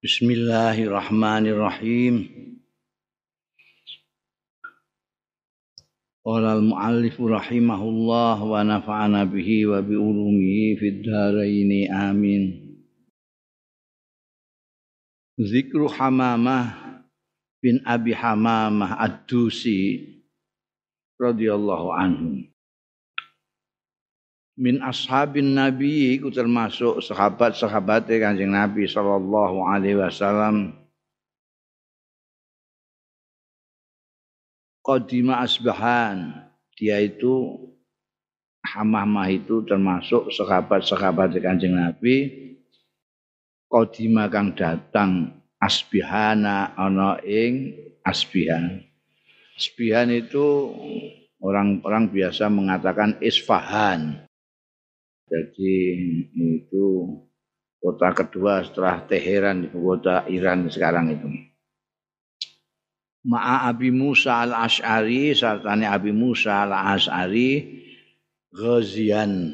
Bismillahirrahmanirrahim. Qala al-muallif rahimahullah wa nafa'ana bihi wa bi ulumihi fid dharain amin. Zikru Hamamah bin Abi Hamamah Ad-Dusi radhiyallahu anhu. Min ashabin Nabi iku termasuk sahabat-sahabate Kanjeng Nabi sallallahu alaihi wasallam. Qadima Asbahan, dia itu Hamamah itu termasuk sahabat-sahabat Kanjeng Nabi. Qadima kang datang Asbihana ana ing Asbihan. Asbihan itu orang-orang biasa mengatakan Isfahan. Jadi itu kota kedua setelah Teheran, ibu kota Iran sekarang itu. Ma'a Abi Musa al-Ash'ari, sartane Abi Musa al-Ash'ari ghazian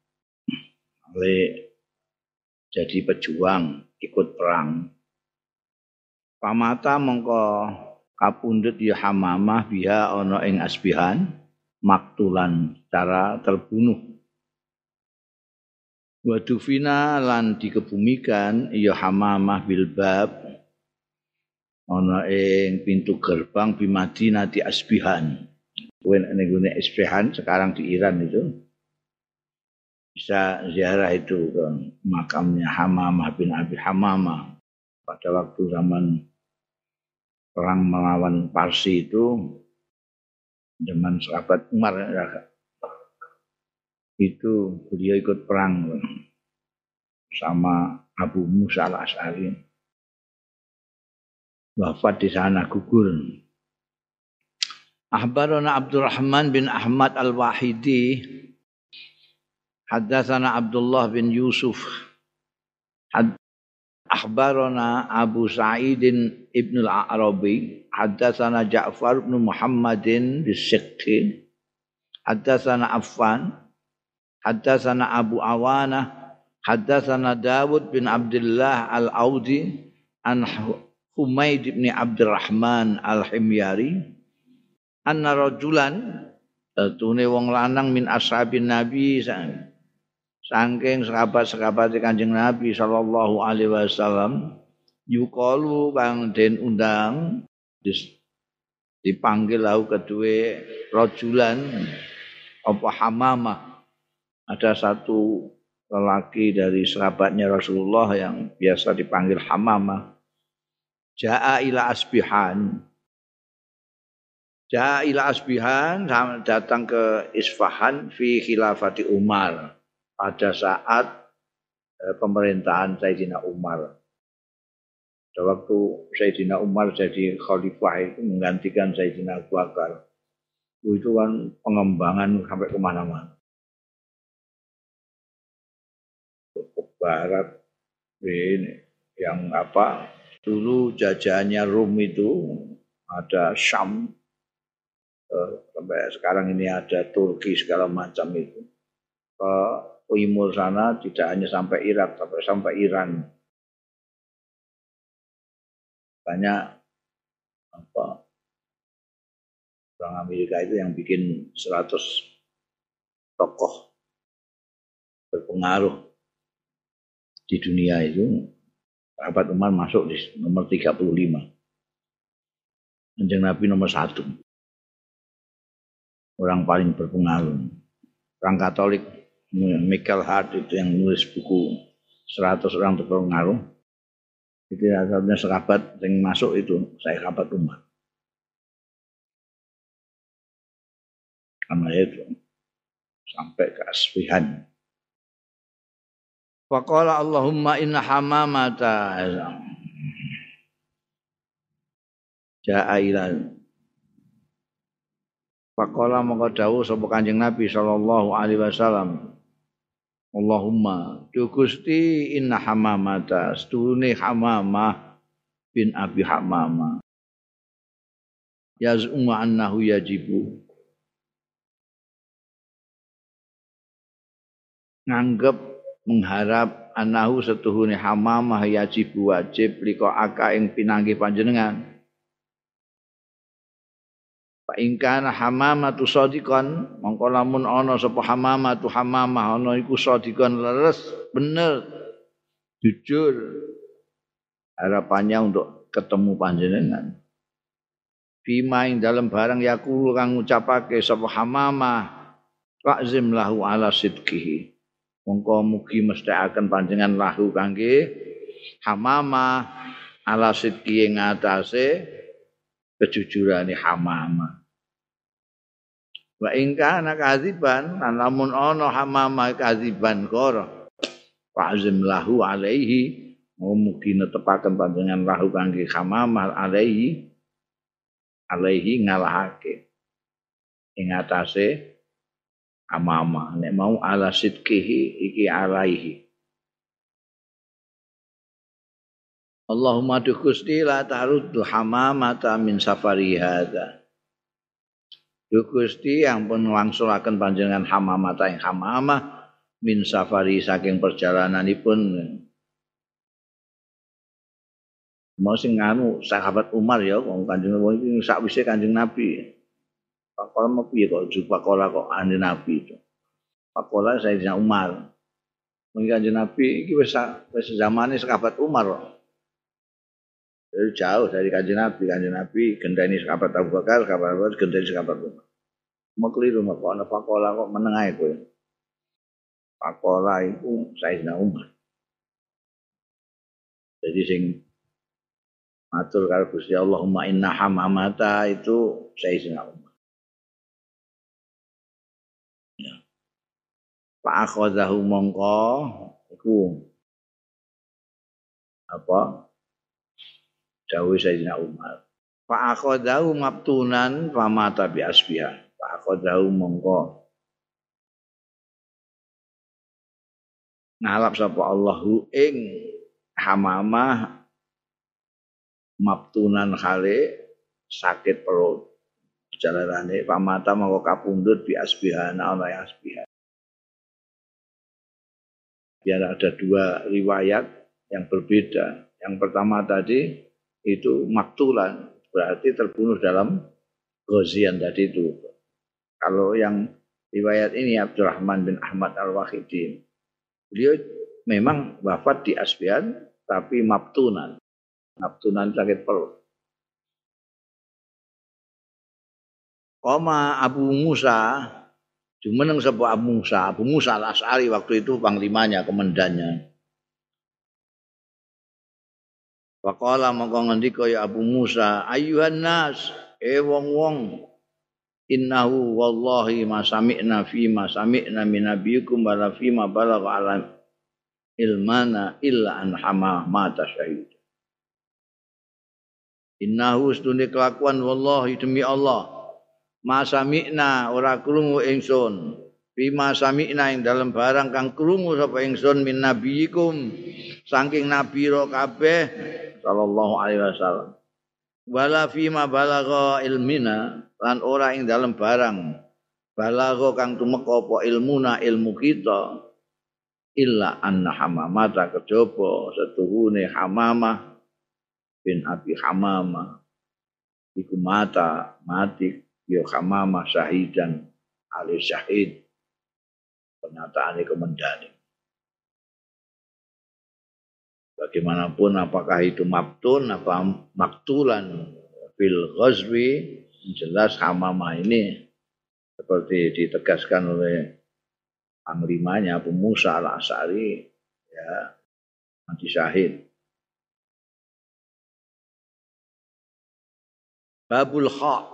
oleh jadi pejuang ikut perang. Pamata mongko kapundhut ya Hamamah biha ana ing Asbihan maktulan cara terbunuh. Wa dufina lan dikebumikan ya Hamamah bil bab ana ing pintu gerbang di Madinah di Asbihan. Kuwi nek ngene Asbihan sekarang di Iran itu bisa ziarah itu ke makamnya Hamamah bin Abi Hamamah pada waktu zaman perang melawan Parsi itu zaman sahabat Umar itu beliau ikut perang sama Abu Musa al-Ash'ari, wafat di sana, gugur. Akhbarana Abdurrahman bin Ahmad al-Wahidi haddatsana Abdullah bin Yusuf akhbarana Abu Sa'idin ibn al-Arabi haddatsana Ja'far bin Muhammadin bis-Siqqi haddatsana Affan haddatsana Abu Awana haddatsana Dawud bin Abdullah al-Audi an Humaid bin Abdurrahman al-Himyari anna rajulan tune wong lanang min ashabin Nabi saking sahabat-sahabat Kanjeng Nabi sallallahu alaihi wasallam yuqalu kang den undang dipanggil lahu kedue rajulan apa Hamamah. Ada satu lelaki dari sahabatnya Rasulullah yang biasa dipanggil Hamamah. Ja'a ila Asbihan. Ja'a ila Asbihan datang ke Isfahan fi khilafati Umar pada saat pemerintahan Sayyidina Umar. Pada waktu Sayyidina Umar jadi khalifah itu menggantikan Sayyidina Abu Bakar. Itu kan pengembangan sampai kemana-mana. Barat ini yang apa dulu jajahannya Rum itu ada Syam sampai sekarang ini ada Turki segala macam itu ke timur sana tidak hanya sampai Irak tapi sampai Iran banyak apa orang Amerika itu yang bikin 100 tokoh berpengaruh di dunia itu. Sahabat Umar masuk di nomor 35. Kanjeng Nabi nomor 1. Orang paling berpengaruh. Orang Katolik Michael Hart itu yang nulis buku 100 orang terpengaruh. Itu satunya sahabat yang masuk itu saya sahabat Umar. Karena itu sampai ke Asbihan. Faqala Allahumma inna Hamamata ja'a ila. Faqala mongko dawuh sapa Kanjeng Nabi sallallahu alaihi wasallam, Allahumma tu Gusti inna Hamamata stune Hamamah bin Abi Hamamah yaz'umu annahu yajibu nganggep mengharap anahu setuhune hamamah yajib wajib liko aka ing pinanggih panjenengan. Fa in kana hamamatu shadiqan mongko lamun ana sapa hamamatu hamamah ana iku shadiqan leres bener jujur harapannya untuk ketemu panjenengan. Fima ing dalam barang yakulu kang ngucapake sapa hamamah wa'zim lahu ala sidqihi. Mongko mugi mestakaken panjenengan lahu kangge hamamah ala sidqi ing atase kejujurane hamamah. Wa in kana kadziban lamun ana hamamah kadziban kor fa'zim lahu alaihi mugi netepaken panjenengan lahu kangge hamamah alaihi ngalahake ing atase hamamah nek mau ala sidqihi iki alaihi. Allahumma du Gusti la taruddu hamamata min safari hadza. Du Gusti yang pun wangsulaken panjenengan hamamata ing hamamah min safari saking perjalananipun. Mau sing anu sahabat Umar ya wong Kanjeng Nabi sakwise Kanjeng Nabi. Pakola mau piye kok pakola kok ane Nabi itu. Pakola Sayyidina Umar. Mungkin Kanjeng Nabi iki wis zamane sahabat Umar kok. Jauh dari Kanjeng Nabi gendani sahabat Abu Bakar, sahabat Abu Bakar gendani sahabat Umar. Mau keliru mak ana pakola kok meneng ae kowe. Pakola iku Sayyidina Umar. Jadi sing matur karo Gusti Allahumma inna hamamata itu Sayyidina Umar. Ya. Fa akhadhahu mongko iku apa? Dawuh Sayyidina Umar. Fa akhadhahu mabtunan famata bi asbiha. Fa akhadhahu mongko ngalap sapa Allahu ing hamamah mabtunan khale sakit perut jalarane pamata mongko kapundhut bi asbihana ana asbiha. Biar ada dua riwayat yang berbeda. Yang pertama tadi itu maktulan berarti terbunuh dalam ghazian tadi itu. Kalau yang riwayat ini Abdurrahman bin Ahmad Al-Wahidi beliau memang wafat di asbihan tapi mabtunan sakit perut. Koma Abu Musa, jumeneng sapa Abu Musa Al-Asy'ari waktu itu panglimanya, komandannya. Faqala mongko ngendika ya Abu Musa, ayyuhan nas, wong-wong, innahu wallahi ma sami'na min nabiyikum wala fi ma balagha alam ilmana illa an hama mata syahid. Innahu stune kelakuan wallahi demi Allah ma sami'na ora krungu ingsun bima sami'na ing dalam barang kang krungu sapa ingsun min nabiyikum saking nabi ro kabeh sallallahu alaihi wasallam wala fima balagha ilmina lan ora ing dalam barang balagha kang tumeka apa ilmuna ilmu kita illa anna hamamata kejaba setuhune hamamah bin Abi Hamamah iku mati ya Hamamah syahidan ali syahid pernyataane komandane. Bagaimanapun apakah itu mabtun apa maktulan fil ghazwi jelas Hamamah ini seperti ditegaskan oleh panglimanya Abu Musa Al-Asy'ari ya mati syahid. Babul Kha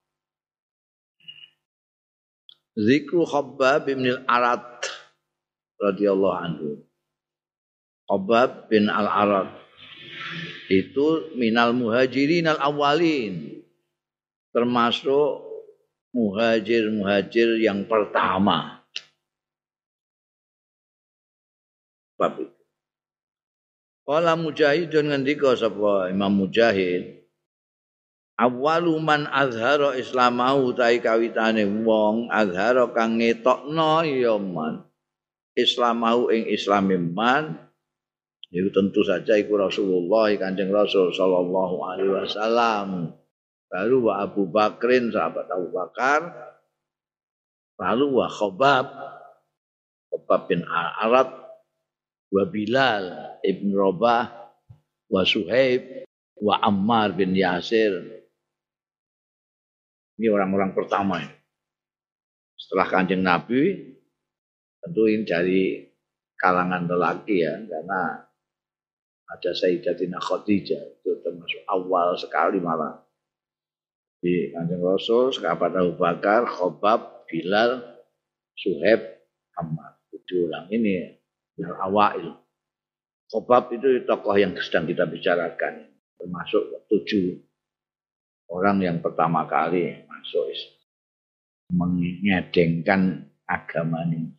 Zikru Khabbab bin Al-Arad radhiyallahu anhu. Khabbab bin Al-Arad itu minal muhajirin al-awwalin, termasuk muhajir yang pertama. Bab itu. Qala Mujahidun ngendika sapa Imam Mujahid, awwalu man azhara islamahu tai kawitane wong azhara kang ngetokno ya man islamahu ing islame man Itu tentu saja iku Rasulullah Kanjeng Rasul sallallahu alaihi wasallam. Lalu wa Abu Bakrin sahabat Abu Bakar, lalu wa Khobab bin Arad, wa Bilal ibn Rabah, wa Suhaib, wa Ammar bin Yasir. Ini orang-orang pertama ini. Setelah Kanjeng Nabi, tentu ini dari kalangan lelaki ya, karena ada Sayyidatina Khadijah, itu termasuk awal sekali malah. Di Kanjeng Rasul, sahabat Abu Bakar, Khobab, Bilal, Suhaib, Ammar. 7 orang ini yang awal. Khobab itu tokoh yang sedang kita bicarakan, termasuk 7 orang yang pertama kali masuk mengedengkan agama ini.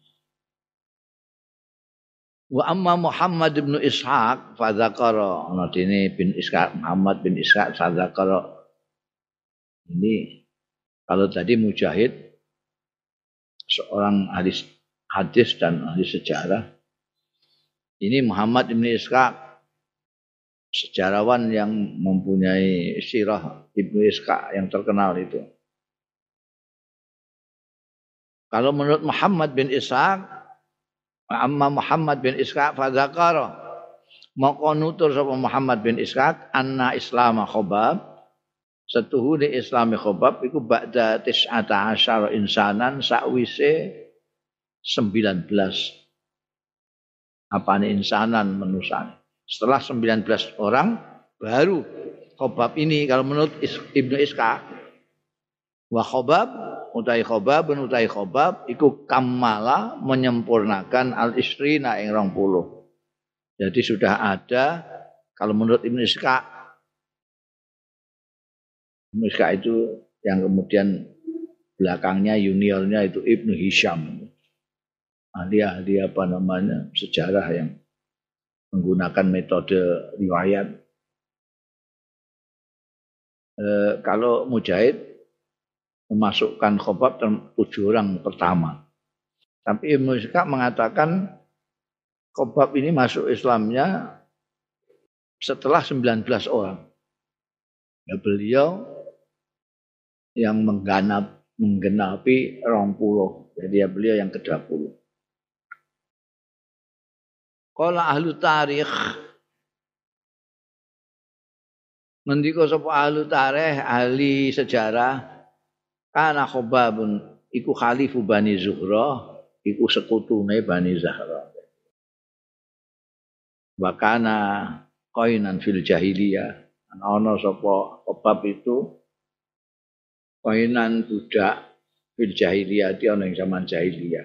Wa amma Muhammad bin Ishaq fa dzakara, ana dene bin Ishaq Muhammad bin Ishaq dzakara. Ini kalau tadi Mujahid seorang ahli hadis dan ahli sejarah. Ini Muhammad bin Ishaq sejarawan yang mempunyai sirah Ibnu Ishaq yang terkenal itu. Kalau menurut Muhammad bin Ishaq, amma Muhammad bin Ishaq fa dzakara, maka nutur sapa Muhammad bin Ishaq anna Islam Khobab, setuhune Islami Khobab iku ba'da 19 insanan sakwise 19 apane insanan manusia. Setelah 19 orang baru Khobab ini kalau menurut Ibnu Ishaq. Wa Khobab utai Khobab iku kamala menyempurnakan al-isrina ing 20. Jadi sudah ada kalau menurut Ibnu Ishaq itu yang kemudian belakangnya juniornya itu Ibnu Hisham. Ahli apa namanya sejarah yang menggunakan metode riwayat. Kalau Mujahid memasukkan Khobab 7 orang pertama. Tapi Ibnu Ishaq mengatakan Khobab ini masuk Islamnya setelah 19 orang. Ya, beliau yang menggenapi 20. Jadi ya beliau yang ke-20. Qala ahlu tarikh, ngendika sapa ahlu tarikh, ahli sejarah, kana Khobabun iku khalifu Bani Zuhrah, iku sekutune Bani Zahra. Wa kana qainan fil jahiliyah, ana sapa Khobab itu qainan budak fil jahiliyah, ana ing zaman jahiliyah.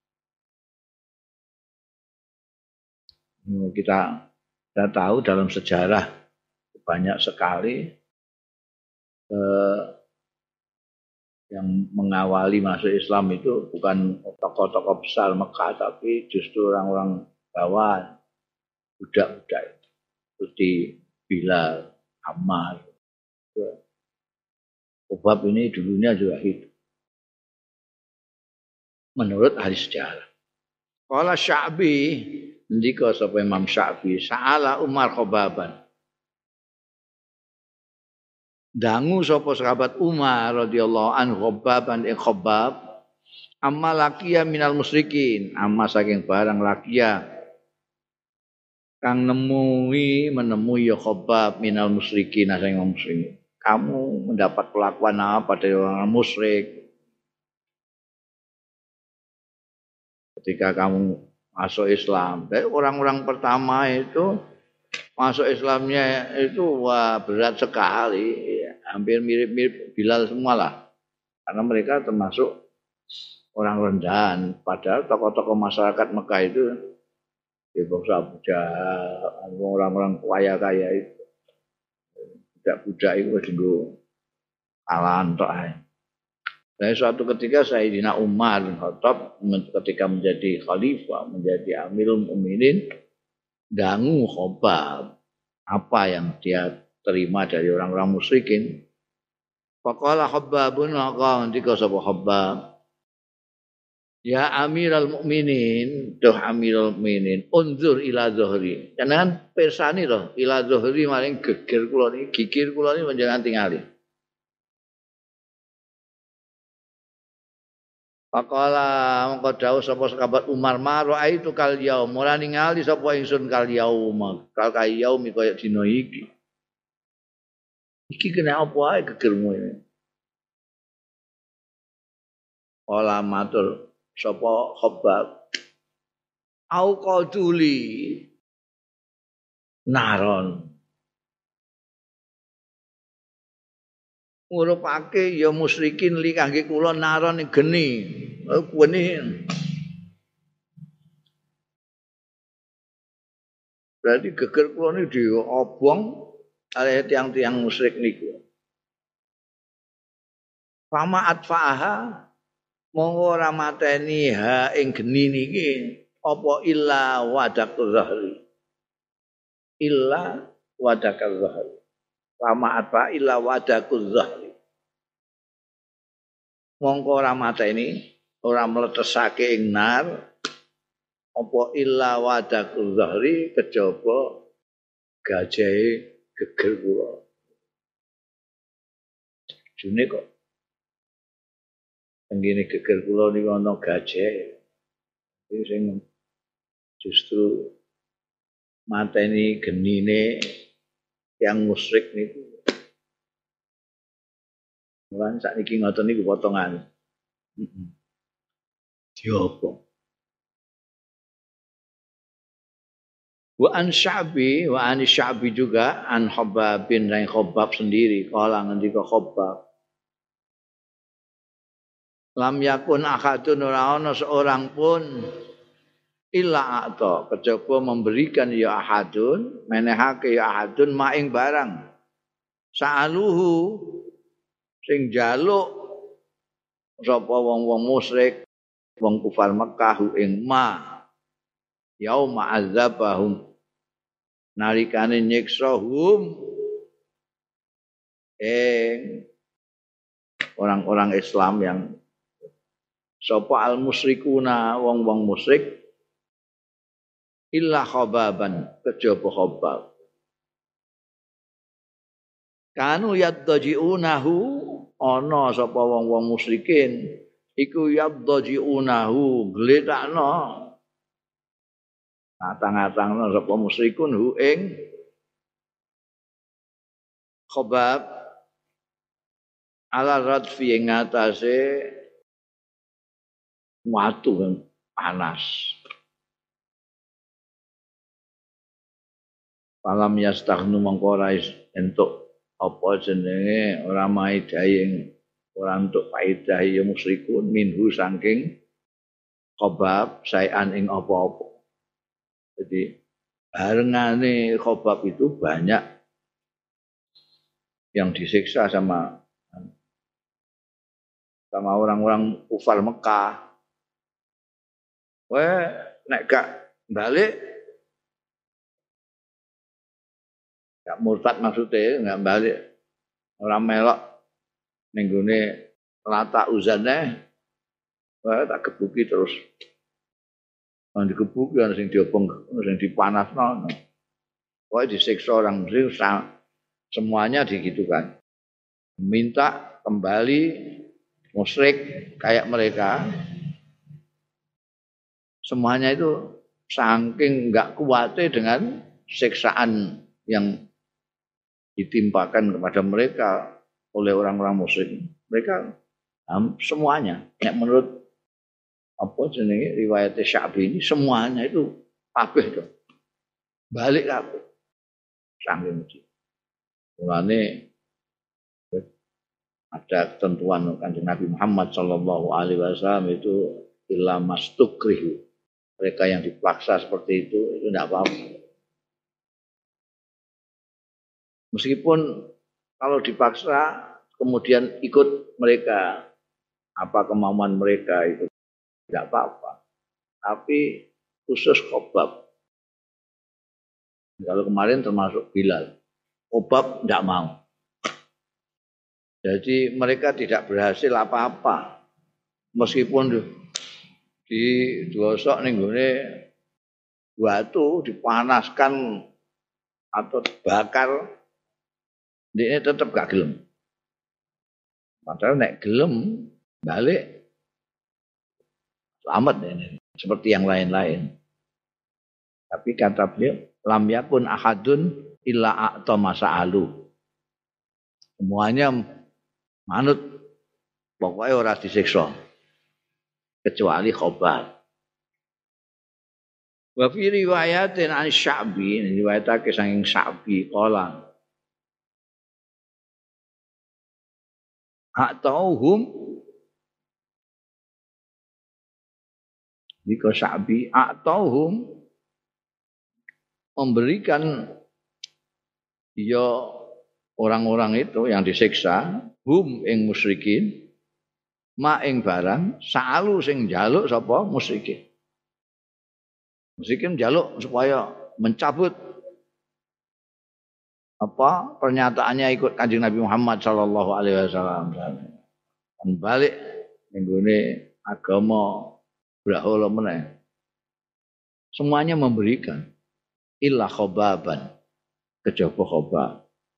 Kita tahu dalam sejarah banyak sekali yang mengawali masuk Islam itu bukan tokoh-tokoh besar Mekah, tapi justru orang-orang bawah, budak-budak seperti Bilal, Ammar. Khobab ini dulunya juga hidup. Menurut ahli sejarah. Qala Sya'bi, ndika sapa Imam Sya'bi, sa'ala Umar Khobaban. Dangu sapa sahabat Umar radhiyallahu anhu Khobaban ing Khobab, amma laqiya minal musyrikin, amma saking barang laqiya kang menemui ya Khobab minal musyrikin saking musyrikin. Kamu mendapat perlakuan apa dari orang musyrik ketika kamu masuk Islam? Dari orang-orang pertama itu masuk Islamnya itu wah berat sekali, hampir mirip-mirip Bilal semua lah, karena mereka termasuk orang rendahan. Padahal tokoh-tokoh masyarakat Mekah itu ya bangsa budak, orang-orang kaya-kaya itu, budak-budak itu dulu alahan tok ae. Dan suatu ketika Sayyidina Umar bin Khattab ketika menjadi khalifah, menjadi Amirul Mukminin, dangu Khobab apa yang dia terima dari orang-orang musyrikin. Faqala Khabbabun, maka ndika sapa Khabbab, Ya Amiral Mukminin, doh Amiral Mukminin, unzur ila zuhri. Jangan persani loh, ila zuhri maring geger kula niki, gigir kula niki panjenengan tingali. Faqala mongko dawuh sapa sahabat Umar maro itu kal yaum ora ningali sapa ingsun kal yaum kal yaumi kaya dina iki. Iki kena apa ae gegermu ini. Ola matur sapa Khabbab au qaduli naron ngurupake ya musyrikin li kangge kula naron geni geni berarti geger kula niku diobong oleh tiang-tiang musyrik niku fama atfaha monggo ora mateni ha ing geni niki apa illa wadakul zahri illa wadakul zahri fama atfa illa wadakul zahri mongko ora mateni ora mletesake ing nar apa illa wadakul zahri kejaba gajahe geger kula june kok tenggene geger kula niku ana gajah iki sing justru mateni genine yang musyrik niku lan sakniki ngoten niku potongan diobong wa an sya'bi juga an Khabbab bin Khabbab sendiri kala ngendika Khabbab lam yakun ahadun ora ana seorang pun illa ata kejaba memberikan ya ahadun menehake ya ahadun maing barang sa'aluhu sing jaluk sapa wong-wong musyrik wong kufar Mekah ing ma yauma azabahum nalikane nyiksa orang-orang Islam yang sapa al musyrikuna wong-wong musyrik illa khababan kejaba khabab kanu yadjiunahu ana sapa wong-wong musyrikin iku yadjiunahu gletakno atang-atangno sapa musyrikun hu ing khabab ala radfi ing atase watu yang panas Falam yastaghnu mangko ora entuk apa jenenge ora maidhae ora entuk faedah ya musyrikun minhu saking Khabab saean ing apa-apa. Jadi barengane Khabab itu banyak yang disiksa sama orang-orang kufar Mekah. Weh nek gak balik gak murtad maksudnya gak balik orang melok ning gone lata uzane wah tak gebuki terus nang digebuki ana sing diobong ana sing dipanasno wae disiksa orang muslim semuanya digitukan minta kembali musyrik kayak mereka semuanya itu saking enggak kuatnya dengan siksaan yang ditimpakan kepada mereka oleh orang-orang musyrik. Mereka semuanya, ya menurut apa jenenge riwayat Sya'bi ini semuanya itu kabeh itu. Balik kabeh. Saking mesti. Mulane ada ketentuan Kanjeng Nabi Muhammad sallallahu alaihi wasallam itu illa mastukrihu. Mereka yang dipaksa seperti itu tidak apa-apa. Meskipun kalau dipaksa kemudian ikut mereka apa kemauan mereka itu tidak apa-apa. Tapi khusus Khabab. Kalau kemarin termasuk Bilal. Khabab tidak mau. Jadi mereka tidak berhasil apa-apa. Meskipun di digosok ning gone batu dipanaskan atau dibakar, dia tetap gak gelem. Padahal nek gelem balik selamat ini seperti yang lain-lain. Tapi kata beliau, lam yakun ahadun illa a'ta masa'alu. Semuanya manut, pokoknya ora disiksa kecuali Khobar. Wa fi riwayatin an Sya'bi, riwayatake saking Sya'bi qala a'tauhum Diko Sya'bi a'tauhum memberikan ya orang-orang itu yang disiksa hum ing musyrikin ma ing barang sa'alu sing njaluk sapa musyrikin. Musyrikin njaluk supaya mencabut apa pernyataannya ikut Kanjeng Nabi Muhammad sallallahu alaihi wasallam. Dan balik ning gone agama brahala meneh. Semuanya memberikan illa khobaban kejaba Khobab.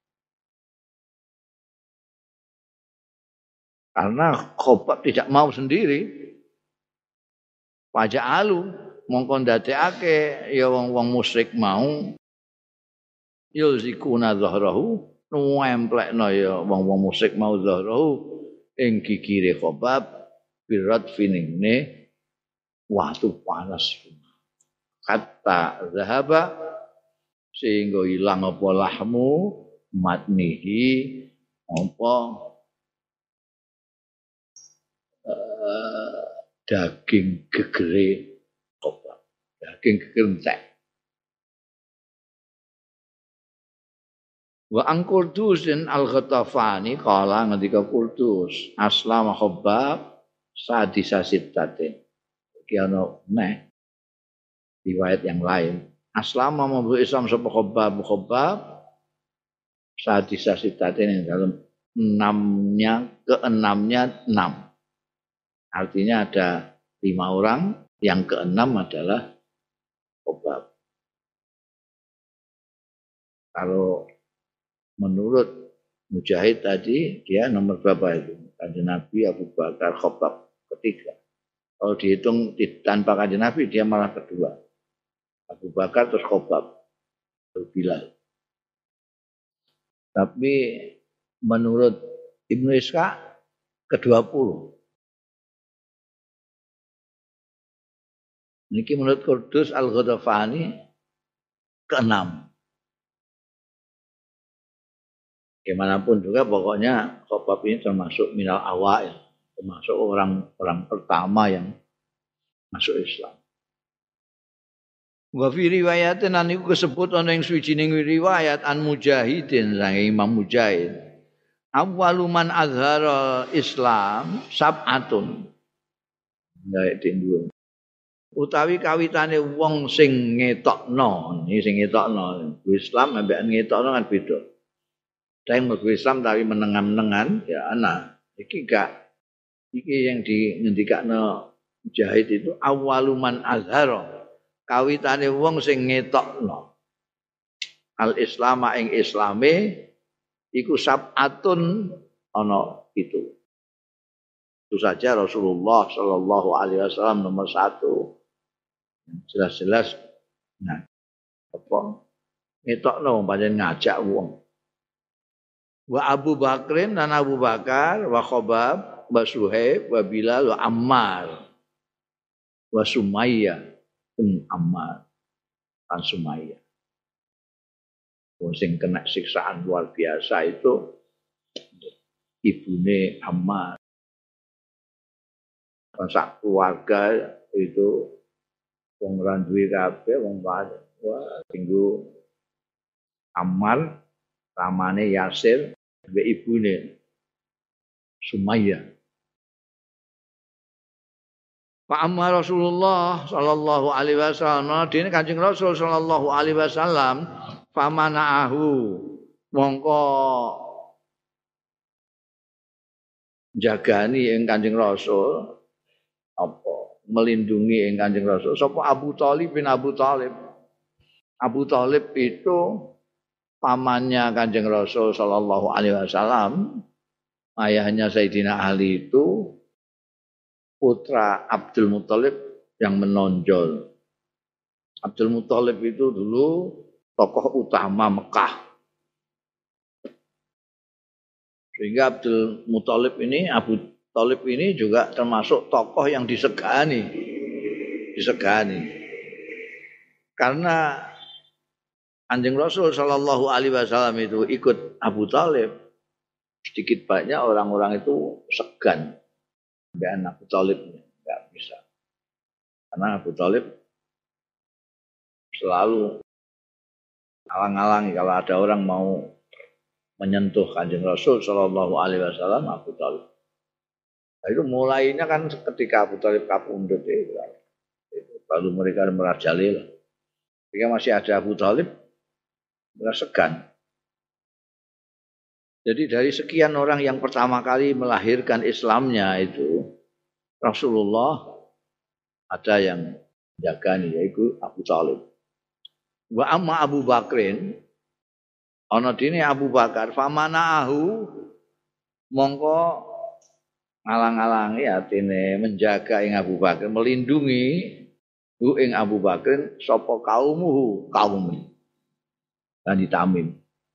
Karena Khobab tidak mau sendiri. Pajak alu mongko ndadekake ya wong-wong musyrik mau yulzikuna zahrahu nemplekno ya wong-wong musyrik mau zahrahu ing gigire Khobab birat finingne watu panas kata zahaba sehingga hilang apa lahmu matnihi apa daging gegere Khobab, daging geger entek. Wa an Qurdus al-Ghatafani kala ngendika Qurdus aslama Khobab sadisa sittatin. Iki ana neh riwayat yang lain. Aslama mabu Islam sapa Khobab sadisa sittatin yang dalam keenamnya 6. Artinya ada 5 orang, yang keenam adalah Khobab. Kalau menurut Mujahid tadi dia nomor berapa itu? Kanjeng Nabi, Abu Bakar, Khobab ketiga. Kalau dihitung tanpa Kanjeng Nabi dia malah kedua. Abu Bakar terus Khobab, terus Bilal. Tapi menurut Ibnu Ishaq ke-20. Niki menurut Qurdus al-Ghatafani ke-6. Bagaimanapun juga pokoknya Khobab ini termasuk minal awail, termasuk orang pertama yang masuk Islam. Wa fi riwayatin niku kesebut ana ing suwijining riwayat an Mujahidin saking Imam Mujahid. Awwalu man azhara Islam sab'atun. Gawe dinggo. Utawi kawitane wong sing ngetokno, iki sing ngetokno Islam ambek ngetokno kan beda. Sing mlebu Islam tapi menengan-menengan ya ana. Iki gak iki yang dingendikakno Mujahid itu awaluman azhara. Kawitane wong sing ngetokno al-Islam ing Islame iku sab'atun ana itu. Itu saja Rasulullah sallallahu alaihi wasallam nomor 1. Jelas-jelas nah apa ngetokno pancen ngajak wong. Wa Abu Bakrin dan Abu Bakar wa Khobab wa Suhaib wa Bilal wa Ammar wa Sumayyah Ammar dan Sumayyah. Wong sing kena siksaan luar biasa itu ibune Ammar. Sak keluarga itu wong ora duwe kabeh wong wae. Wah, tinggu Ammar ramane Yasir mbek ibune Sumayyah. Pak Ammar Rasulullah sallallahu alaihi wasallam dene Kanjeng Rasul sallallahu alaihi wasallam famanaahu mongko jagani ing Kanjeng Rasul apa melindungi ing Kanjeng Rasul sapa Abu Thalib bin Abu Thalib. Abu Thalib itu pamannya Kanjeng Rasul sallallahu alaihi wasallam. Ayahnya Sayyidina Ali itu putra Abdul Muthalib yang menonjol. Abdul Muthalib itu dulu tokoh utama Mekah. Sehingga Abdul Muthalib ini, Abu Thalib ini juga termasuk tokoh yang disegani. Karena Kanjeng Rasul sallallahu alaihi wasallam itu ikut Abu Thalib, sedikit banyak orang-orang itu segan dengan Abu Thalib, enggak bisa. Karena Abu Thalib selalu alang-alangi kalau ada orang mau menyentuh Kanjeng Rasul sallallahu alaihi wasallam, Abu Thalib. Nah, itu mulainya kan ketika Abu Thalib kapundhut itu. Baru mereka merajalela. Ketika masih ada Abu Thalib, mereka segan. Jadi dari sekian orang yang pertama kali melahirkan Islamnya itu, Rasulullah ada yang menjagani, yaitu Abu Thalib. Wa amma Abu Bakrin, ana dene Abu Bakar, famanaahu mongko ngalang-alangi atine menjaga ing Abu Bakar, melindungi hu ing Abu Bakar sapa kaumuhu, kaum Bani Tamim.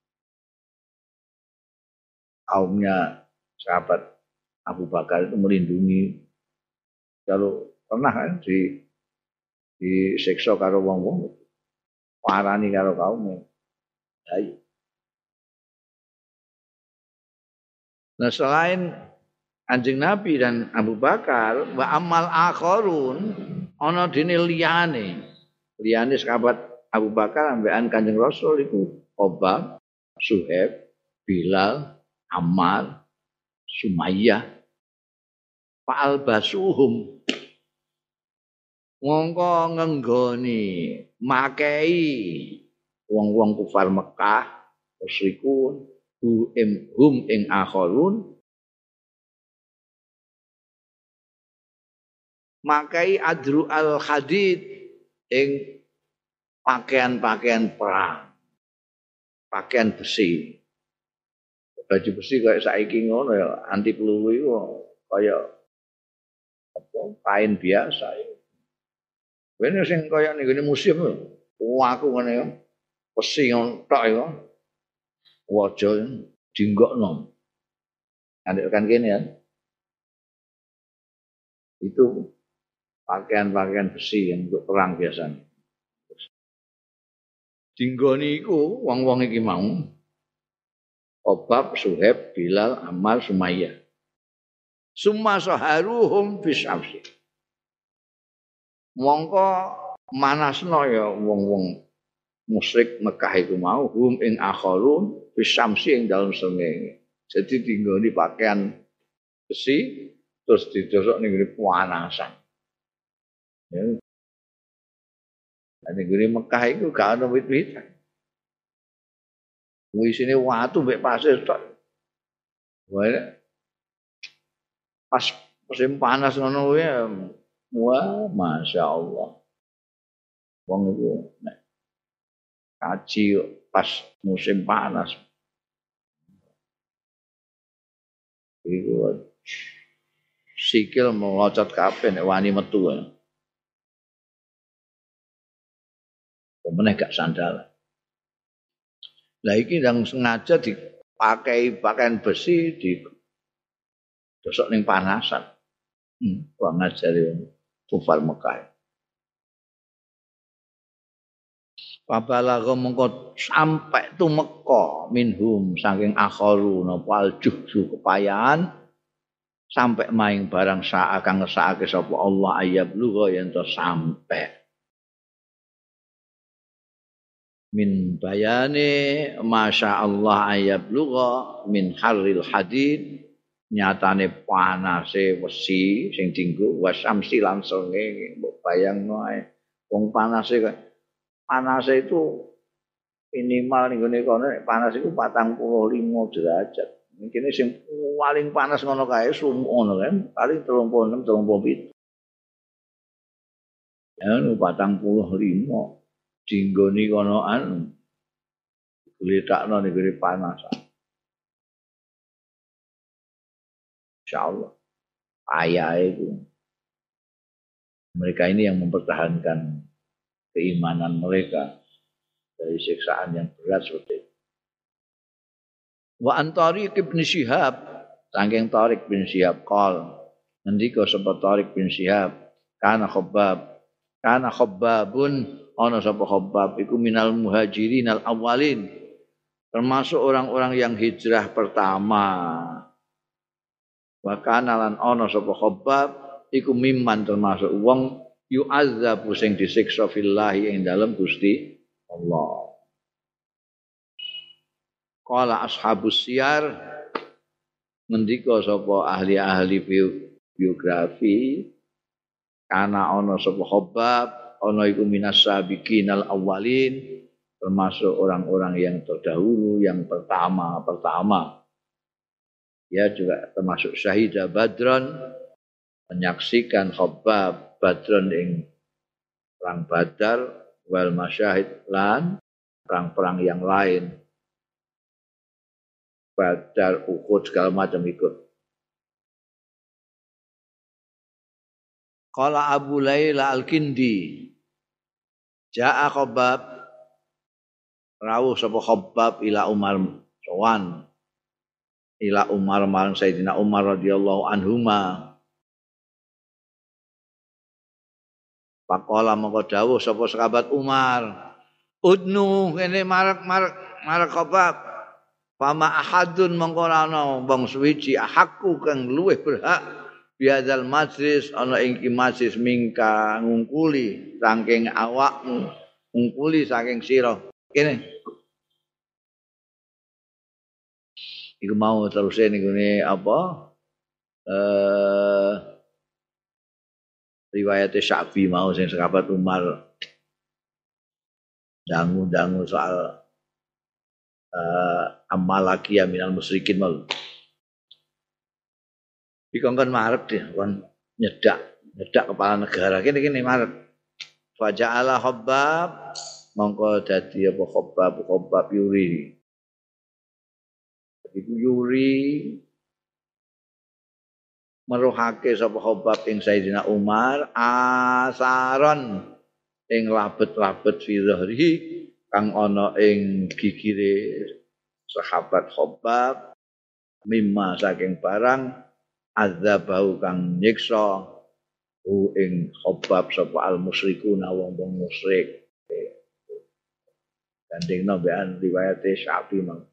Kaumnya sahabat Abu Bakar itu melindungi. Kalau pernah kan disiksa karo wong-wong, parani karo kaumnya. Ayo. Nah selain Kanjeng Nabi dan Abu Bakar, wa amal akharun ana dene liyane sahabat Abu Bakar ambekan Kanjeng Rasul iku Obab, Suhaib, Bilal, Ammar, Sumayyah, Fa'al basuhum mongko ngenggoni makei wong-wong kufar Mekah musyrikun hum ing akharun makai adru al hadid ing pakaian-pakaian perang, pakaian besi. Baju besi kayak saiki ngono ya, anti peluru itu kayak apa kain biasa ya. Wene sing kaya ning ngene museum lho. Aku ngene ya. Besi ngono tok ya. Waja dinggokno. Andek kan kene ya. Itu pakaian-pakaian besi yang untuk perang biasanya. Dinggoni iku wong-wong iki mau Obab, Suhaib, Bilal, Ammar, Sumayyah. Summa saharuhum bisyamsi. Mongko manasno ya wong-wong musyrik Mekah iku mau hum ing akharun bisyamsi ing dalem srengenge. Jadi dinggoni pakaian besi terus didosok ning ngene panasan. Ya. Ning ngene Mekah iku gak ono wit-witan. Wisine watu mbek pasir tok. Wae pas musim panas ngono kuwi wah masyaallah. Wong iku nek kaji pas musim panas. Iku sikil melocot kabeh nek wani metu. Pemeneh gak sandal. Lah iki yang sengaja dipakai pakaian besi di dosok ning panasan. Wong ngajari kufar Mekah. Pabalagha mengko sampai tumeka minhum saking akharu napa aljuhju kepayahan sampai maing barang sak kang ngesake sapa Allah ayyablugha yen to sampai min bayane masya Allah ayyablugha min harril hadid nyatane panase wesi sing dienggo wasamsi langsung mbok bayangno ae wong panase itu minimal ning gone kono panas iku 45 derajat. Mungkin sing paling panas ngono kae sumuk ngono kan, paling 36 37. anu 45 dinggoni kono anu gletakno negeri panas. Insyaallah ayah itu mereka ini yang mempertahankan keimanan mereka dari siksaan yang berat seperti itu. Wa antari ibn Syihab saking Tariq bin Syihab qol ngendika sapa Tariq bin Syihab kana khabbabun ana sapa khabbab iku minal muhajirin al awwalin termasuk orang-orang yang hijrah pertama wa kana lan ana sapa khabbab iku mimman termasuk wong yu'azzabu sing disiksa fillahi ing dalem Gusti Allah. Qala ashabus siyar ngendika sapa ahli-ahli biografi kana ana sapa khabbab ana iku minas sabiqinal awwalin termasuk orang-orang yang terdahulu yang pertama. Ya juga termasuk syahida Badron menyaksikan khabbab Badron ing perang Badar wal masyahid lan perang-perang yang lain Badar, Uhud segala macam ikut. Qala Abu Laila Al-Kindi Ja'a Khabbab rawuh sapa Khabbab ila Umar sowan ila Umar marang Sayyidina Umar radhiyallahu anhuma. Faqala mongko dawuh sapa sahabat Umar udnu kene marek Khabbab Fama ahadun mongko ana wong suwiji ahakku kang luwih berhak biadzal majlis ana ing majlis mingka ngungkuli saking awakmu ngungkuli saking sira kene iku mau terus niku apa riwayat Syafi'i mau sing sahabat Umar dangu soal amalaki minal musyrikin mal. Dikongkon marep deh, kon nyedak kepala negara kene marep. Faja'ala Khabbab mongko dadi apa Khabbab yuri. Iku yuri meruhake sapa Khabbab ing Sayyidina Umar asaron ing labet-labet fi dhahri kang ana ing gigire sahabat Khabbab mimma saking barang azabau kang nyiksa ing Khabbab sapa al musyrikuna wong musyrik gandengno mbekan riwayat Syafi'i mang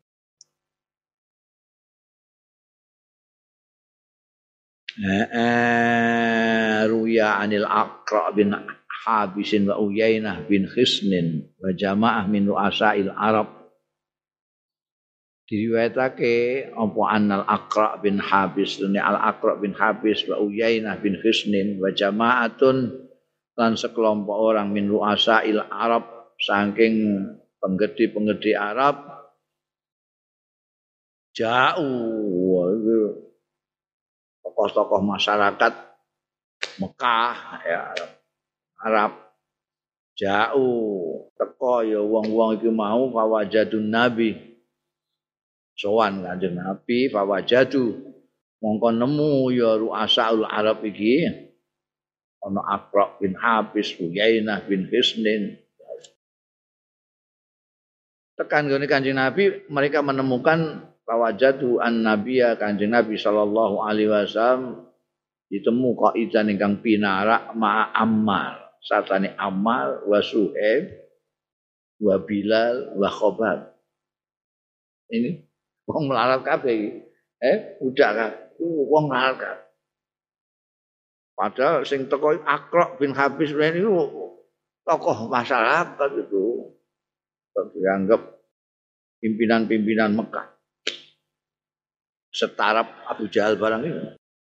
ruya anil Aqra bin Habisin wa Uyainah bin Khisnin wa jamaah min ru'asail Arab diriwayatake apa annal Aqra bin Habis dene al Aqra bin Habis wa Uyainah bin Khisnin wa jamaatun lan sekelompok orang min ru'asail Arab saking penggede-penggede Arab jauh tokoh-tokoh masyarakat Mekah ya Arab jauh teko ya wong-wong iki mau fawajadun nabi sowan Kanjeng Nabi fawajadu mongko nemu ya ru'asaul Arab iki ana Aqra bin Habis Uyainah bin Hisnin tekan gone Kanjeng Nabi mereka menemukan fawajadu an-nabiyya Kanjeng Nabi sallallahu alaihi wasallam ditemu qaidan ingkang pinarak ma Ammar satane Ammar wa Suhaib wa Bilal wa Khabbab. Ini wong melarat kabeh iki. Budak kabeh. Wong melarat kabeh. Padahal sing teko Aqra bin Habis niku tokoh masyarakat itu. Dianggap pimpinan-pimpinan Mekah. Setarap Abu Jahal barang itu.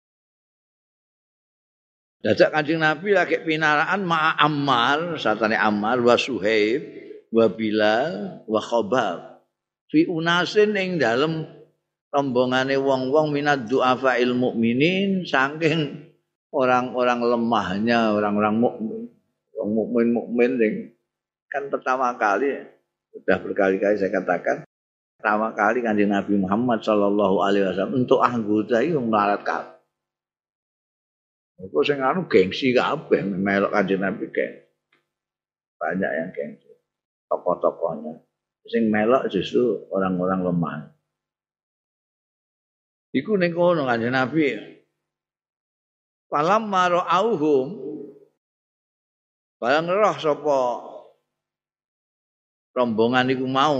Dadak Kanjeng Nabi lagi pinaraan ma'a Ammar, satane Ammar wa Suhaib wa Bilal wa Khabbab. Fi unasin ing dalem rombongane wong-wong minad du'afa'il mukminin saking orang-orang lemahnya orang-orang mukmin. Wong mukmin sing kan pertama kali sudah berkali-kali saya katakan pertama kali Kanjeng Nabi Muhammad sallallahu alaihi wasallam untuk anggota iki wong melarat kabeh. Kok sing anu gengsi kabeh melok Kanjeng Nabi kayak banyak yang gengsi. Tokoh-tokohnya sing melok justru orang-orang lemah. Iku ning kono Kanjeng Nabi. Falam marauhum barang roh sapa rombongan iku mau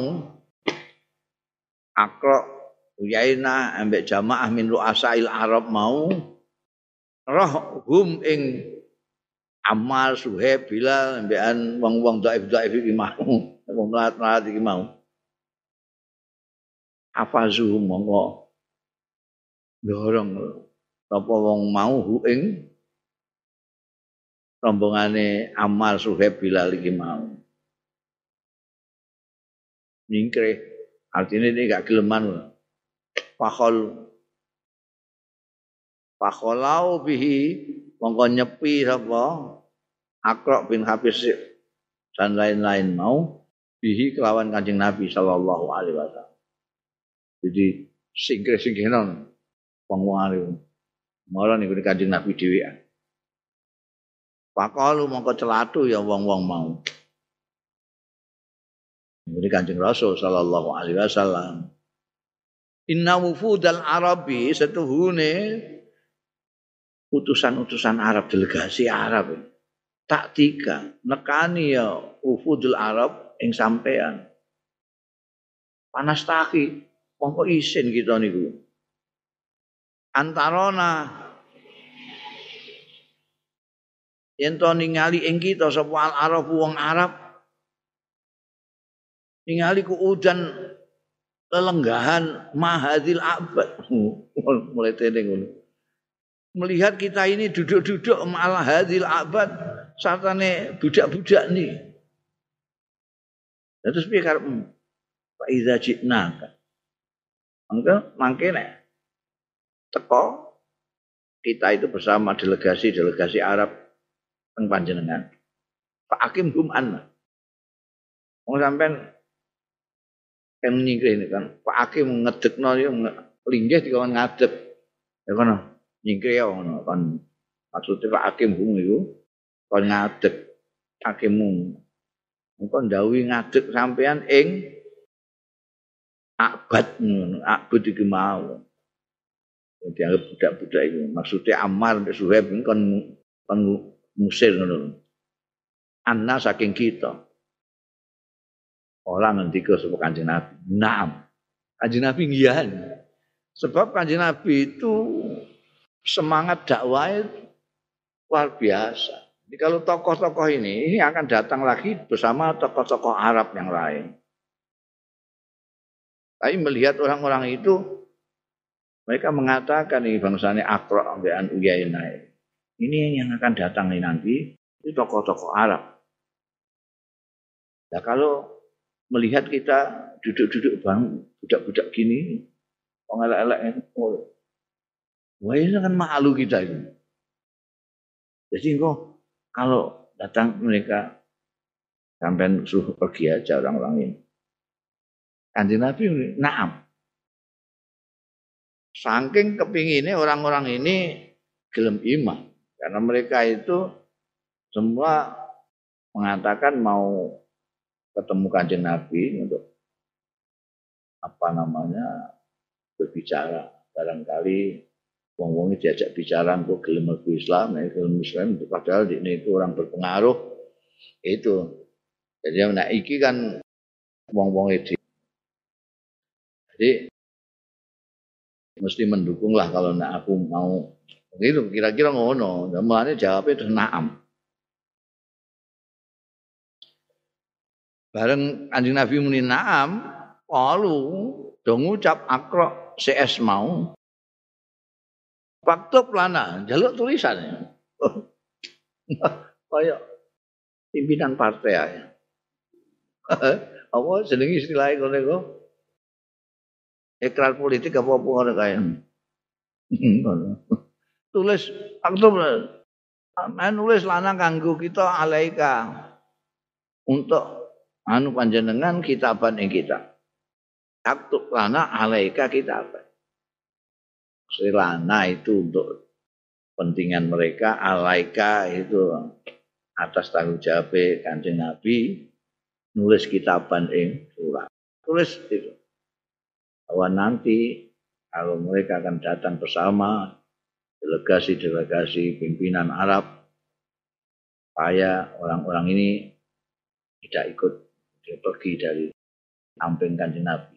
Akra Uyainah ambek jamaah min ru'asail Arab mau roh hum ing Ammar Suhaib Bilal ambekan wong-wong dhaif-dhaif iki mau wong melarat iki mau afazu mongko dorong apa wong mau hu ing rombongane Ammar Suhaib Bilal iki mau nyingkrih artinya ini gak geleman fakholau bihi mongko nyepi sapa Aqra bin Habis dan lain-lain mau bihi kelawan Kanjeng Nabi sallallahu alaihi wasallam. Jadi singkir-singkiran wong-wong alim. Mara niku Kanjeng Nabi dhewean. Faqalu mongko celatu ya wong-wong mau. Ini Kanjeng Rasul sallallahu alaihi wasallam. Inna wufudal Arabi setuhune utusan-utusan Arab, delegasi Arab. Tak tiga nekani ya wufudul Arab ing sampean. Panas taki mongko isin kita niku. Antarona yen to ningali ing kita sapa al-Arab wong Arab ningali ku udan lelenggahan mahadil abad mulai teneng ngono melihat kita ini duduk-duduk malah hadil abad sartane budak-budak nih terus piye karepmu fa iza jitna mangke nek teko kita itu bersama delegasi Arab teng panjenengan Pak Hakim Human wong sampean kan nyingkrih ini kan Pak Hakim ngedekno yo linggih dikon ngadeg ya kono nyingkrih ya ngono kan maksudnya Pak Hakim Hum iku kon ngadeg hakimmu engko ndawuhi ngadeg sampean ing abad ngono abad iki mau dianggap budak-budak itu maksudnya Ammar dan Suhaib kon musir ngono anna saking kita orang ngendika sapa Kanjeng Nabi. Naam. Kanjeng Nabi ngiyahan. Sebab Kanjeng Nabi itu semangat dakwah luar biasa. Jadi kalau tokoh-tokoh ini akan datang lagi bersama tokoh-tokoh Arab yang lain. Tapi melihat orang-orang itu mereka mengatakan ini bangsanya Aqra ambekan Uyainah. Ini yang akan datang nanti itu tokoh-tokoh Arab. Nah kalau melihat kita duduk-duduk bang budak-budak gini, orang elek-elek, wah ini kan malu kita ini. Jadi kok kalau datang mereka sampai suruh pergi aja orang-orang ini. Kanjeng Nabi, naam. Saking kepinginnya orang-orang ini gelem iman, karena mereka itu semua mengatakan mau ketemu Kanjeng Nabi untuk berbicara barangkali wong-wong diajak bicara kok gelem mlebu Islam padahal ini itu orang berpengaruh itu jadi nek iki kan wong-wong itu jadi mesti mendukung lah kalau nek aku mau gitu kira-kira ngono mulane jawabnya terus na'am. Bareng Kanjeng Nabi muni na'am, qalu do ngucap Aqra CS mau. Paktub lana, jaluk tulisan. Kaya pimpinan partai ae. Apa jenenge istilahé ngono iku? Ikrar politik apa ngono kae. Tulis paktub Nulis lana kanggo kita alaika untuk panjenengan kitaban ing kita. Aktub lana alaika kitaban. Lana itu untuk kepentingan mereka, alaika itu atas tanggung jawab Kanjeng Nabi nulis kitaban ing surat. Tulis itu. Bahwa nanti kalau mereka akan datang bersama delegasi-delegasi pimpinan Arab, supaya orang-orang ini tidak ikut dia pergi dari samping Kanjeng Nabi.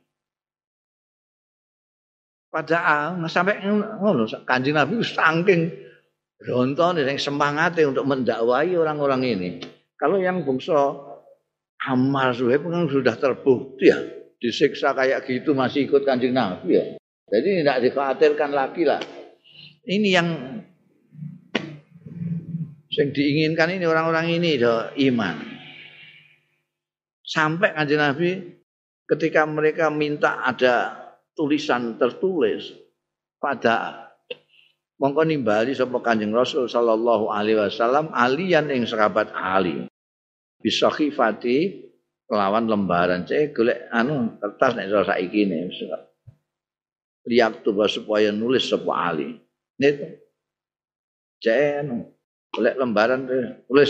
Padahal sampai ngono Kanjeng Nabi saking rontone sing semangate untuk mendakwai orang-orang ini. Kalau yang bangsa Ammar Suhaib kan sudah terbukti ya, disiksa kayak gitu masih ikut Kanjeng Nabi ya. Jadi tidak dikhawatirkan lagi lah. Ini yang diinginkan ini orang-orang ini iman. Sampai Kanjeng Nabi ketika mereka minta ada tulisan tertulis pada mongko nimbali sapa Kanjeng Rasul sallallahu alaihi wasallam alian ing sahabat Ali bisakhifati kelawan lembaran cek golek kertas nek saiki ne liak tuh supaya nulis sapa Ali niku cek golek lembaran tulis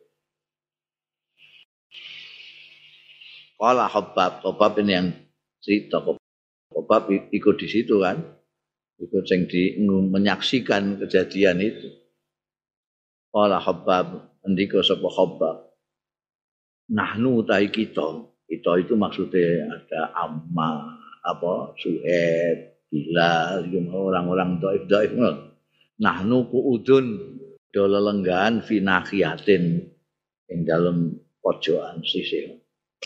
Kala Hobab ini yang cerita Hobab ikut di situ kan, ikut yang menyaksikan kejadian itu. Kala Hobab, ndika sapa Hobab. Nahnu ta'i kita itu maksudnya ada Amma, Suhaib, Bilal, orang-orang dhaif. Nahnu kuudun dola lenggahan fi nakhiyatin ing dalem pojokan sisih.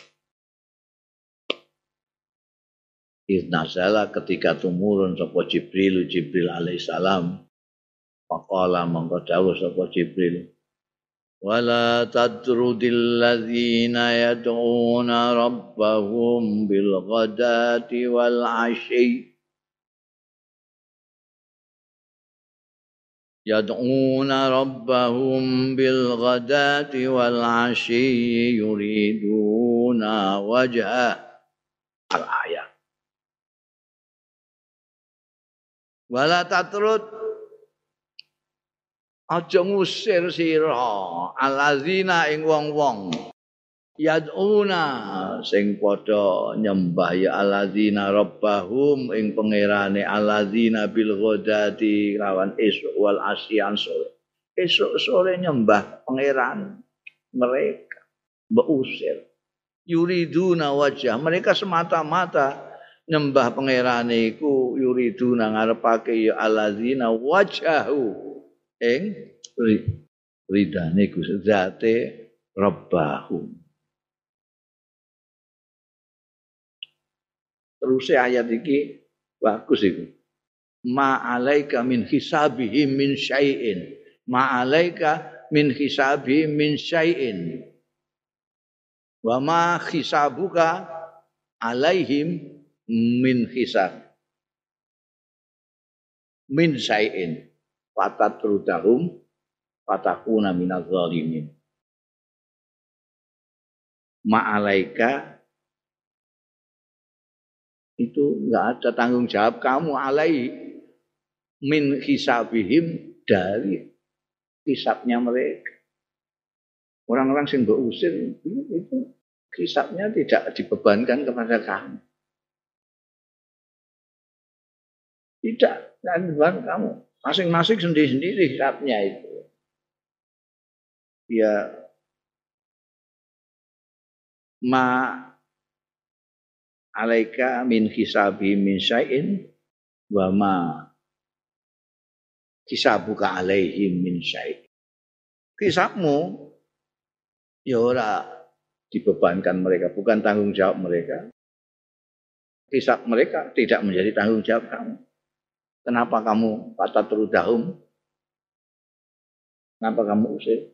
Iznazala ketika tumurun sapa Jibril alaihissalam faqala mongko dawuh sapa Jibril wala tadrudil ladzina yad'una rabbahum bil ghadati wal 'ashyi yad'una rabbahum bil ghadati wal 'ashyi yuriduna wajha al-ayat. Wala tatrud aja ngusir sira alazina ing wong-wong yad'una sing padha nyembah ya alazina rabbahum ing pangerane alazina bil ghadati lawan esuk wal asyan sore esuk sore nyembah pangeran mereka mbok usir yuriduna wajah mereka semata-mata nyembah pangerane iku yuriduna ngarepake ya allazina wajahu ing ridane Gusti zate rabbahum. Terus ayat iki bagus iku. Ma alaika min hisabihim min syai'in. Ma alaika min hisabihim min syai'in. Wa ma hisabuka alaihim min hisab min syai'in fatatrudahum fatakuna minaz zalimin ma'alaika itu enggak ada tanggung jawab kamu alai min hisabihim dari hisabnya mereka orang-orang sing mbok usir itu hisabnya tidak dibebankan kepada kamu. Tidak, dan bukan kamu. Masing-masing sendiri-sendiri hisabnya itu. Ya, ma alaika min hisabi min syai'in wa ma hisabuka alaihim min syai'in. Hisabmu ya ora dibebankan mereka, bukan tanggung jawab mereka. Hisab mereka tidak menjadi tanggung jawab kamu. Kenapa kamu fatatrudahum? Kenapa kamu usir?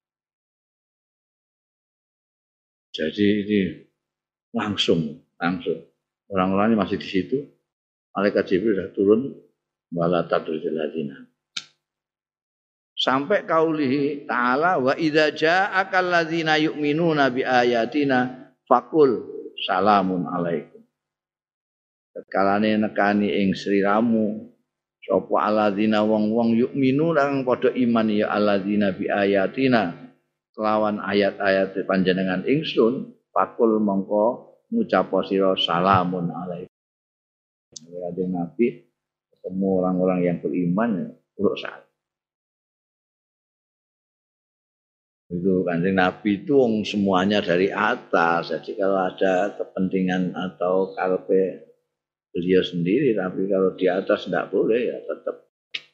Jadi ini langsung orang-orang ini masih di situ. Malaikat Jibril sudah turun wala tadrudil ladina. sampai kaulihi ta'ala wa idza ja'akal ladzina yu'minuna bi ayatina faqul salamun alaikum. Kalane nekani ing sliramu sapa alladzina wong-wong yu'minu kang padha iman ya alladzina bi ayatina kelawan ayat-ayat panjenengan ingsun faqul mongko ngucap sira salamun alaikum. Ada Nabi ketemu orang-orang yang beriman uruk salam. Itu Kanjeng Nabi itu semuanya dari atas. Jadi kalau ada kepentingan atau karepe beliau sendiri, tapi kalau di atas tidak boleh ya tetap.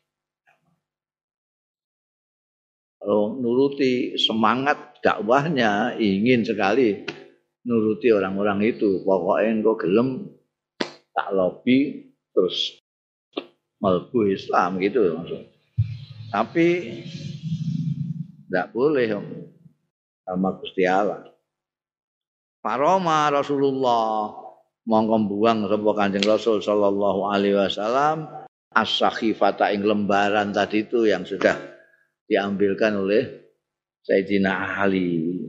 Kalau nuruti semangat dakwahnya ingin sekali nuruti orang-orang itu. Pokoknya engko gelem tak lobby terus mlebu Islam gitu maksudnya. Tapi tidak boleh sama Gusti Allah. Paroma Rasulullah mongko buang sapa Kanjeng Rasul sallallahu alaihi wasallam as-sakhifata ing lembaran tadi itu yang sudah diambilkan oleh Sayyidina Ali.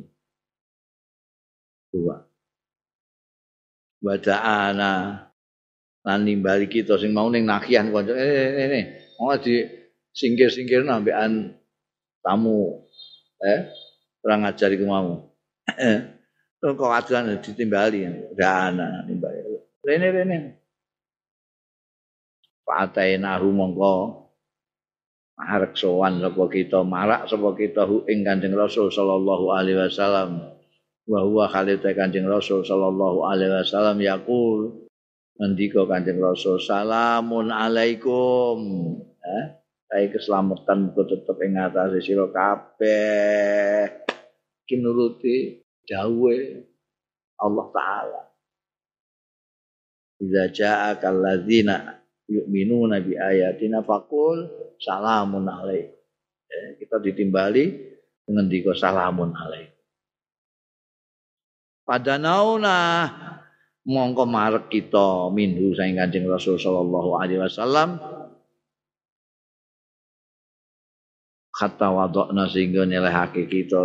Dua. Wada'ana lan nimbali kita sing mau ning nakian kanca mau di singkir-singkir nambekan tamu orang ajar iku mau. Terus kok aduan ditimbali udah ana nimbali. Rene. Patainahu mongko arek sowan sapa kita marak sapa kita ing Kanjeng Rasul sallallahu alaihi wasallam. Wa huwa khalita Kanjeng Rasul sallallahu alaihi wasallam yaqul ngendika Kanjeng Rasul salamun alaikum. Saya keselamatan muga tetep ing atase sira kabeh. Iki nuruti dawuhe Allah taala. Idza ja'akal ladzina yu'minuna bi ayatina faqul salamun alaikum. Kita ditimbali ngendika salamun alaikum. Padanauna mongko marek kita minhu saing Kanjeng Rasul sallallahu alaihi wasallam kata wadokna sehingga nyelehake kita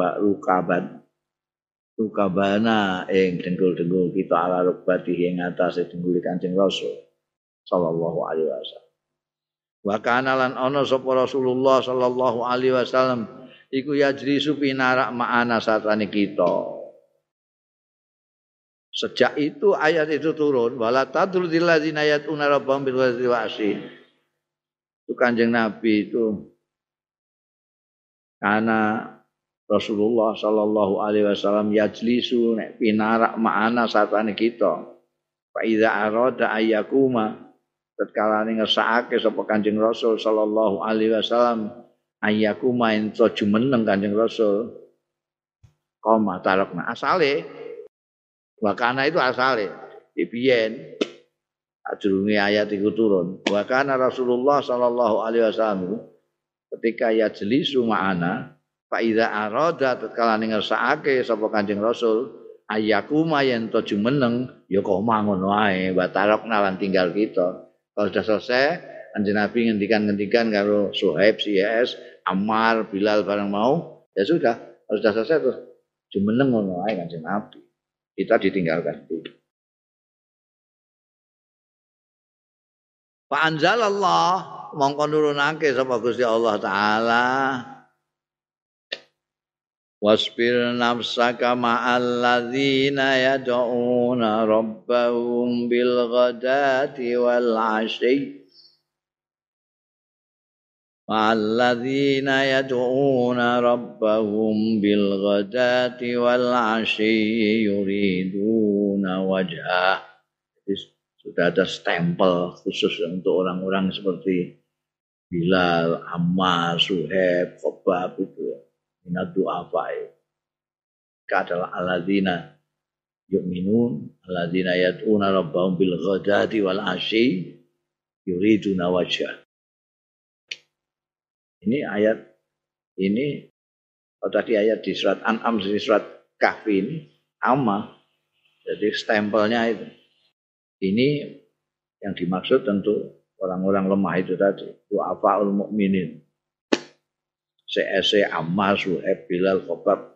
rukabana ing dengkul-dengkul kita ala rukbati ing atase dengkul Kanjeng Rasul sallallahu alaihi wasallam. Wa kana lan ana sapa Rasulullah sallallahu alaihi wasallam iku yajlisu pinarak ma'ana satane kita. Sejak itu ayat itu turun wala tadrudil ladzina yatuna rabbahum bil ghadati wa asyi. Itu Kanjeng Nabi itu karena Rasulullah sallallahu alaihi wasallam yajlisu nek pinarak ma'ana satane kita. Fa iza arada ayyakuma tatkala ngersakake sapa Kanjeng Rasul sallallahu alaihi wasallam ayyakuma ento jumeneng Kanjeng Rasul. Qoma tarakna asale wakana itu asale biyen ajrunge ayat iku turun. Wakana Rasulullah sallallahu alaihi wasallam ketika yajlisu ma'ana fa iza arada tatkala ngersakake sapa Kanjeng Rasul ayyakuma yen to jumeneng ya kok ngono wae batarokna lan tinggal kita. Kalau sudah selesai Kanjeng Nabi ngendikan karo Suhaib CS Ammar Bilal bareng mau ya sudah. Kalau sudah selesai terus jumeneng ngono wae Kanjeng Nabi. Kita ditinggalkan itu. Fa anzalallah mongko nurunake sapa Gusti Allah taala wasbir nafsaka ma'al ladzina yad'una rabbahum bil ghadati wal 'ashyi ma'al ladzina yad'una rabbahum bil ghadati wal 'ashyi yuriduna wajhah. Sudah ada stempel khusus untuk orang-orang seperti Bilal, Ammar, Suhaib, Khobab itu minat du'afai. Mereka adalah alladzina yu'minun, alladzina yad'una rabbahum bil ghadati wal 'ashyi yuriduna wajhah. Ini ayat ini tadi ayat di surat An'am di surat Kahfi ini amma. Jadi stempelnya itu. Ini yang dimaksud tentu orang-orang lemah itu tadi, du'afaul mukminin. CS Ammar Suhaib Bilal Khobab.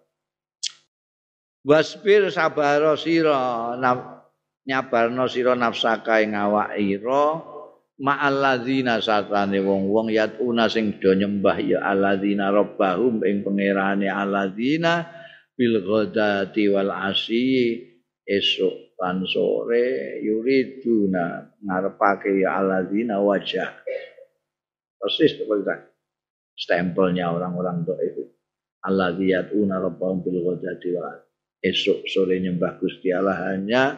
Wasbir sabaro sira nyabarno sira nafsaka ing awak ira ma'al ladzina satane wong-wong yatuna sing do nyembah ya alladzina rabbahum ing pangerane alladzina bil ghadati wal asyi esuk lan sore yuriduna ngarepake ya alladzina wajah. Persis seperti stempelnya orang-orang doa itu. Alladzi yatuna rabbahum bil ghadati wal esok sore nyembah Gusti Allah hanya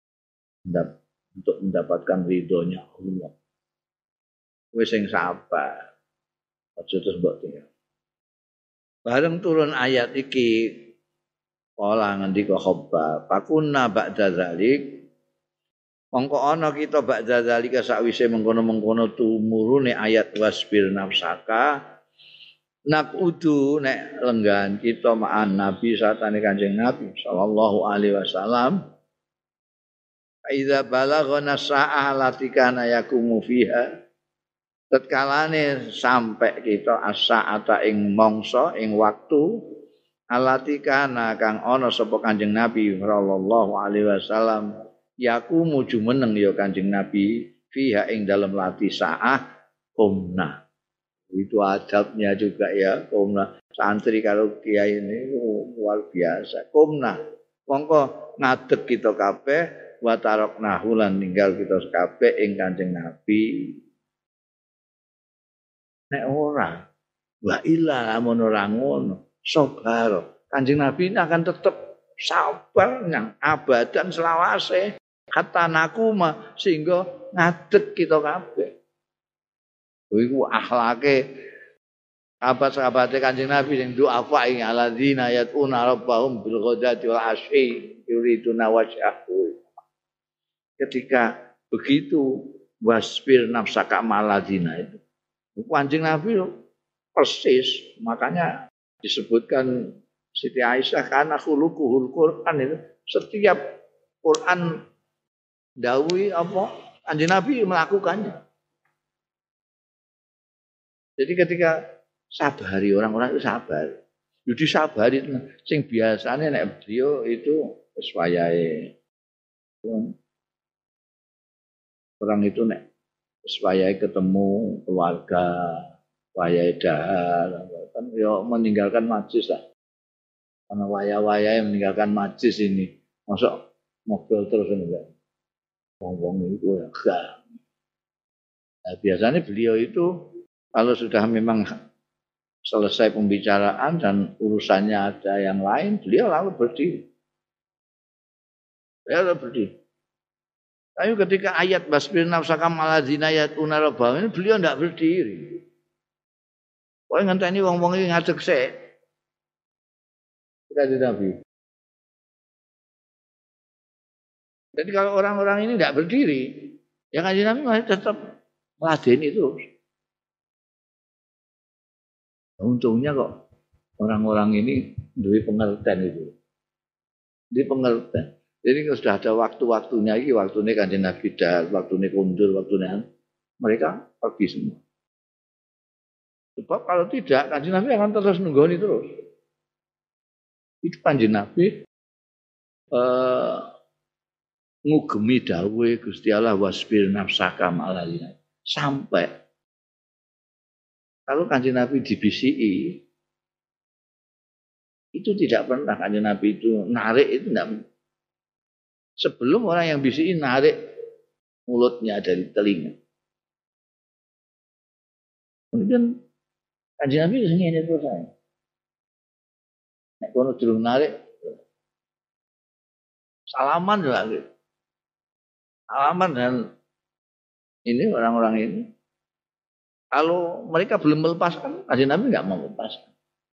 untuk mendapatkan ridhonya Allah. Wis sing sabar. Aja terus mbok tinggal. Bareng turun ayat iki kala ngendika Khabbab, "Pakunna ba'da zalik." Mongko ana kita ba'da zalika sakwise mengkono-mengkono tumurune ayat wasbir nafsaka. Nakudu nek lenggan kita ma'an Nabi satane Kanjeng Nabi sallallahu alaihi wasallam idza balaghana sa'ah latikana yakumu fiha tatkalane sampai kita as-sa'ata ing mangsa ing waktu alatikana kang ana sapa Kanjeng Nabi sallallahu alaihi wasallam yakumu jumeneng ya Kanjeng Nabi fiha ing dalem lati sa'ah umna. Itu adabnya juga ya kumna santri kalau kiai ini luar biasa kumna mongko ngadeg kita kabeh wa taroknahu lan ninggal kita kabeh ing Kanjeng Nabi nek ora wa illa amun ora ngono sabar Kanjeng Nabi ini akan tetap sabar nang abadan selawase kata nakuma sehingga ngadeg kita kabeh. Iku akhlake sahabat-sahabate Kanjeng Nabi sing doa fa ing alladzina yatuna rabbahum bil ghadati wal asyi yuriduna wajhahu. Ketika begitu wasbir nafsaka maladzina itu. Kanjeng Nabi persis makanya disebutkan Siti Aisyah karena khuluquhul Quran itu setiap Quran dawuhi apa Kanjeng Nabi melakukannya. Jadi ketika sabari orang-orang itu sabar. Jadi sabari sing biasanya nek beliau itu wis wayahe. Orang itu nek wis wayahe ketemu keluarga, wayahe dahar, kan yo meninggalkan majlis lah. Karena waya-wayahe meninggalkan majlis ini. Masuk mobil terus enggak. Wong-wong itu ya enggak. Nah, biasanya beliau itu kalau sudah memang selesai pembicaraan dan urusannya ada yang lain, beliau lalu berdiri. Tapi ketika ayat basbir nafsaka maladzina yatuna rabbahum ini beliau tidak berdiri. Kok ngenteni wong-wong iki ngadeg sik. Kita di Nabi. Jadi kalau orang-orang ini tidak berdiri, ya Kanjeng Nabi masih tetap meladeni terus. Untungnya kok orang-orang ini duwe pengertian itu. Di pengertian. Jadi kalau sudah ada waktu-waktunya iki, waktune Kanjeng Nabi dah, waktune kundur, waktune mereka pergi semua. Sebab kalau tidak Kanjeng Nabi akan terus nunggoni terus. Itu Kanjeng Nabi ngugemi dawuhe Gusti Allah wasbir nafsaka ma'al sampai kalau Kanjeng Nabi dibisiki, itu tidak pernah Kanjeng Nabi itu narik itu tidak. Sebelum orang yang bisiki narik mulutnya dari telinga. Kemudian Kanjeng Nabi ngene terus saya. Nek kono durung narik salaman lagi. Salaman dan ini orang-orang ini kalau mereka belum melepaskan, Kanjeng Nabi enggak mau melepaskan.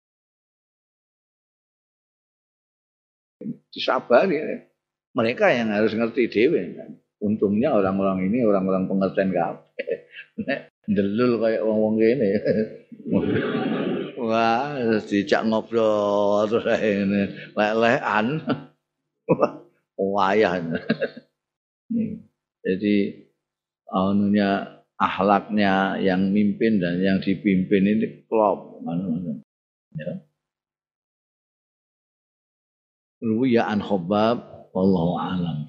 Disabari ya. Mereka yang harus ngerti dhewe kan. Untungnya orang-orang ini orang-orang pengertian kabeh. Nek ndelul kayak wong-wong kene. Wah, dijak ngobrol terus ngene, lek-lekan. Wayah. Jadi anunya akhlaknya yang mimpin dan yang dipimpin ini klop. Ya. Ruwiya an Khabbab wallahu alam.